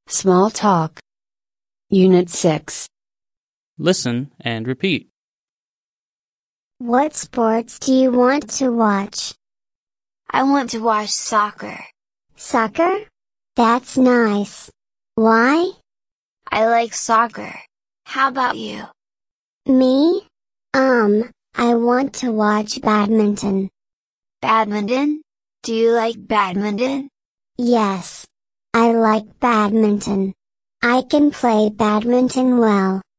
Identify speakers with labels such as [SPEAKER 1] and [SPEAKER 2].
[SPEAKER 1] Small Talk. Unit 6.
[SPEAKER 2] Listen and repeat.
[SPEAKER 3] What sports do you want to watch?
[SPEAKER 4] I want to watch soccer.
[SPEAKER 3] Soccer? That's nice. Why?
[SPEAKER 4] I like soccer. How about you?
[SPEAKER 3] Me? I want to watch badminton.
[SPEAKER 4] Badminton? Do you like badminton?
[SPEAKER 3] Yes. I like badminton. I can play badminton well.